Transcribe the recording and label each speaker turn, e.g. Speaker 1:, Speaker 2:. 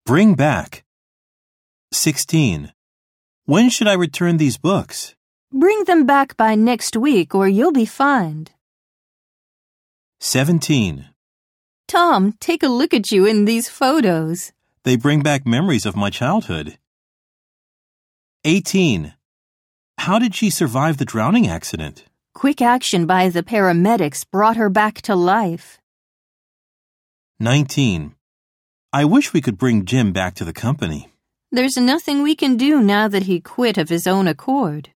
Speaker 1: Bring back. 16. When should I return these books?
Speaker 2: Bring them back by next week or you'll be fined.
Speaker 1: 17.
Speaker 2: Tom, take a look at you in these photos.
Speaker 1: They bring back memories of my childhood. 18. How did she survive the drowning accident?
Speaker 2: Quick action by the paramedics brought her back to life.
Speaker 1: 19. I wish we could bring Jim back to the company.
Speaker 2: There's nothing we can do now that he quit of his own accord.